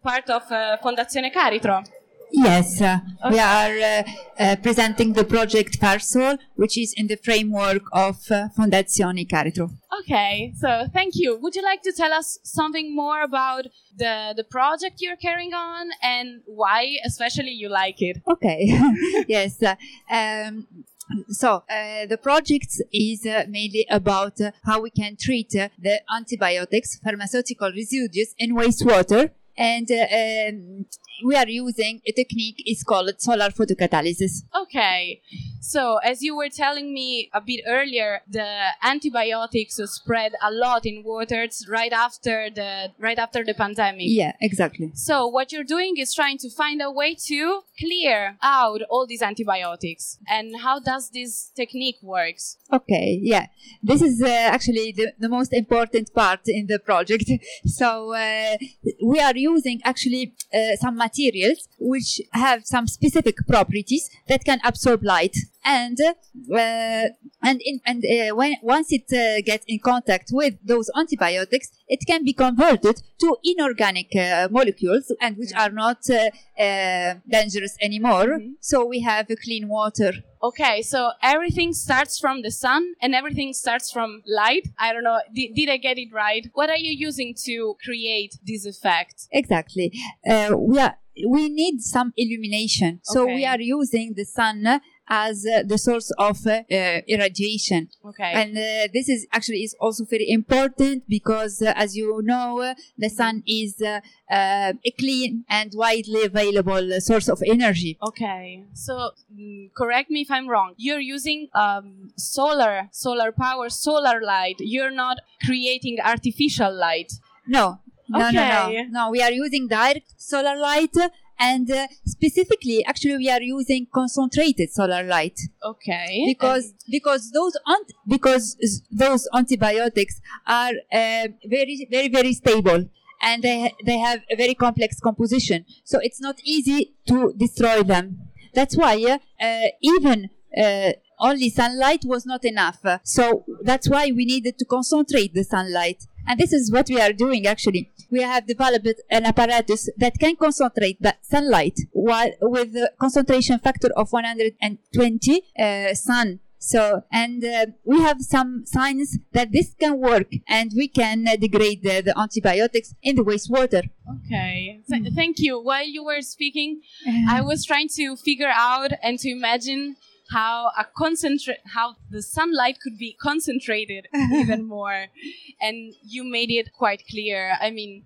part of Fondazione Caritro. Yes, we are presenting the project FARSOL, which is in the framework of Fondazione Caritro. Okay, so thank you. Would you like to tell us something more about the project you're carrying on and why especially you like it? Okay, yes. So the project is mainly about how we can treat the antibiotics, pharmaceutical residues in wastewater. And we are using a technique, it's called solar photocatalysis. Okay, so as you were telling me a bit earlier, the antibiotics spread a lot in waters right after the pandemic. Yeah, exactly. So what you're doing is trying to find a way to clear out all these antibiotics. And how does this technique works? Okay, yeah. This is actually the most important part in the project. So we are using actually some materials which have some specific properties that can absorb light. And once it gets in contact with those antibiotics, it can be converted to inorganic molecules, and which are not dangerous anymore. Mm-hmm. So we have clean water. Okay, so everything starts from the sun and everything starts from light. I don't know, did I get it right? What are you using to create this effect? Exactly. We need some illumination. So we are using the sun as the source of irradiation. Okay. And this is also very important because, as you know, the sun is a clean and widely available source of energy. Okay. So, correct me if I'm wrong. You're using solar power, solar light. You're not creating artificial light. No. Okay. No, we are using direct solar light. And specifically, actually, we are using concentrated solar light. Okay. Because those antibiotics are very, very, very stable, and they have a very complex composition. So it's not easy to destroy them. That's why even only sunlight was not enough. So that's why we needed to concentrate the sunlight. And this is what we are doing, actually. We have developed an apparatus that can concentrate the sunlight with a concentration factor of 120 sun. So, and we have some signs that this can work, and we can degrade the antibiotics in the wastewater. Okay. Thank you. While you were speaking, I was trying to figure out and to imagine how the sunlight could be concentrated even more, and you made it quite clear. I mean,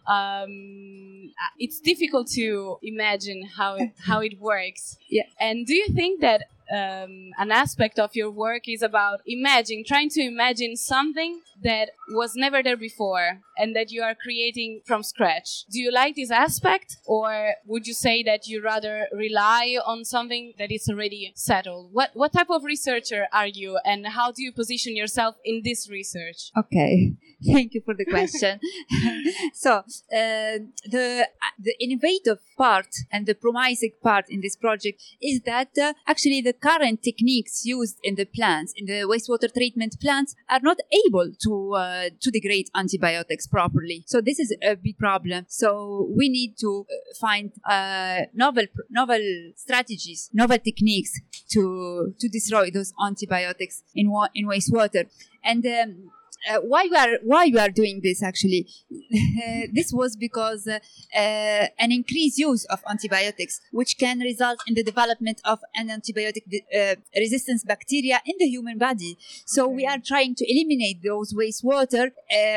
it's difficult to imagine how it works. Yeah. And do you think that an aspect of your work is about trying to imagine something that was never there before and that you are creating from scratch? Do you like this aspect, or would you say that you rather rely on something that is already settled? What type of researcher are you, and how do you position yourself in this research? Okay, thank you for the question. So the innovative part and the promising part in this project is that actually the current techniques used in the plants, in the wastewater treatment plants, are not able to degrade antibiotics properly. So this is a big problem. So we need to find novel strategies, novel techniques to destroy those antibiotics in wastewater. And why we are doing this, actually? This was because an increased use of antibiotics, which can result in the development of an antibiotic resistance bacteria in the human body. So we are trying to eliminate those wastewater,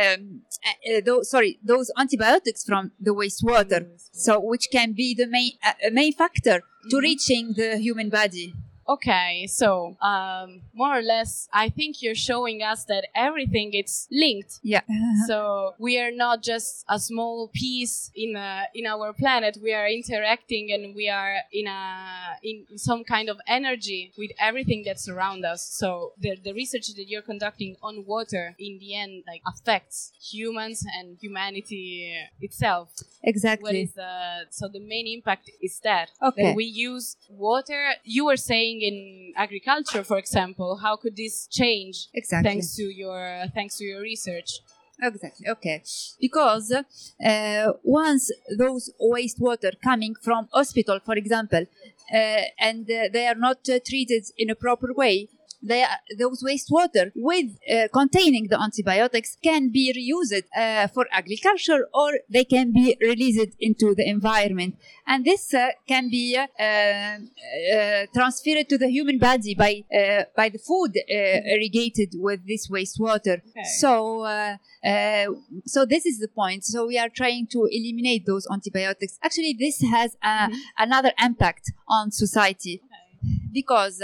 those antibiotics from the wastewater. So which can be the main factor to reaching the human body. Okay, so more or less, I think you're showing us that everything is linked. Yeah. So we are not just a small piece in our planet. We are interacting, and we are in some kind of energy with everything that's around us. So the research that you're conducting on water, in the end, affects humans and humanity itself. Exactly. So the main impact is that we use water. You were saying in agriculture, for example, how could this change? Exactly. Thanks to your research. Exactly. Okay. Because once those wastewater coming from hospital, for example, and they are not treated in a proper way, those wastewater with containing the antibiotics can be reused for agriculture, or they can be released into the environment, and this can be transferred to the human body by the food irrigated with this wastewater. Okay. So this is the point. So we are trying to eliminate those antibiotics. Actually, this has another impact on society, because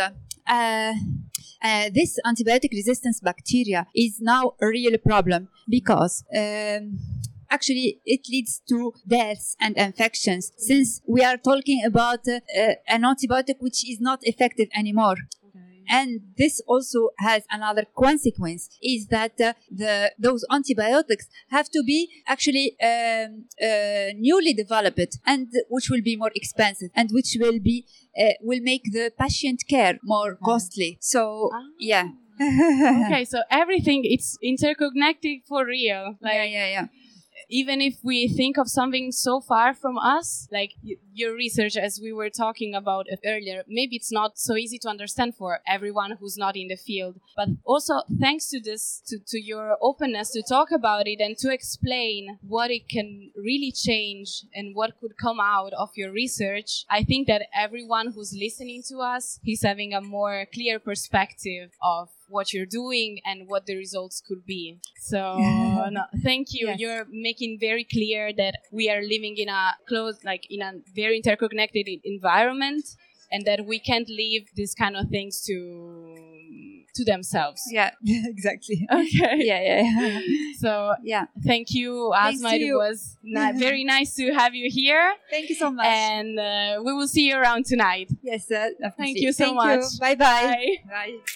this antibiotic resistance bacteria is now a real problem, because actually it leads to deaths and infections, since we are talking about an antibiotic which is not effective anymore. And this also has another consequence, is that those antibiotics have to be actually newly developed, and which will be more expensive, and which will make the patient care more costly. So yeah. Okay, so everything, it's interconnected for real. Like, Yeah. even if we think of something so far from us, like your research, as we were talking about earlier, maybe it's not so easy to understand for everyone who's not in the field. But also, thanks to this, to your openness to talk about it and to explain what it can really change and what could come out of your research, I think that everyone who's listening to us is having a more clear perspective of what you're doing and what the results could be. So no, thank you. Yes. You're making very clear that we are living in a in a very interconnected environment, and that we can't leave these kind of things to themselves. Yeah, exactly. Okay. Yeah. So thank you, Asma. It was very nice to have you here. Thank you so much. And we will see you around tonight. Yes, thank you so much. Bye.